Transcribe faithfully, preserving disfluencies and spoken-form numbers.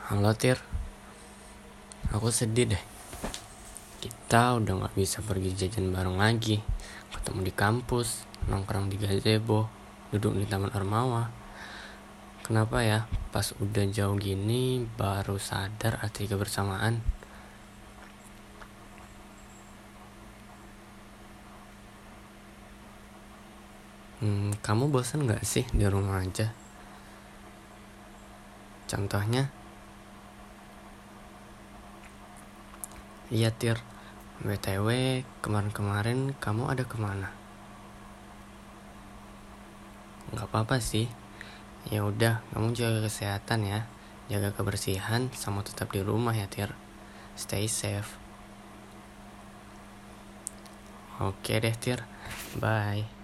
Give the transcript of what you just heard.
Halo Tir, aku sedih deh. Kita udah gak bisa pergi jajan bareng lagi. Ketemu di kampus, nongkrong di gazebo, duduk di taman Ormawa. Kenapa ya, pas udah jauh gini baru sadar arti kebersamaan. hmm, Kamu bosan gak sih di rumah aja? Contohnya, iya Tir, B T W kemarin-kemarin kamu ada kemana? Gak apa-apa sih. Ya udah, kamu jaga kesehatan ya. Jaga kebersihan sama tetap di rumah ya Tir. Stay safe. Oke deh Tir. Bye.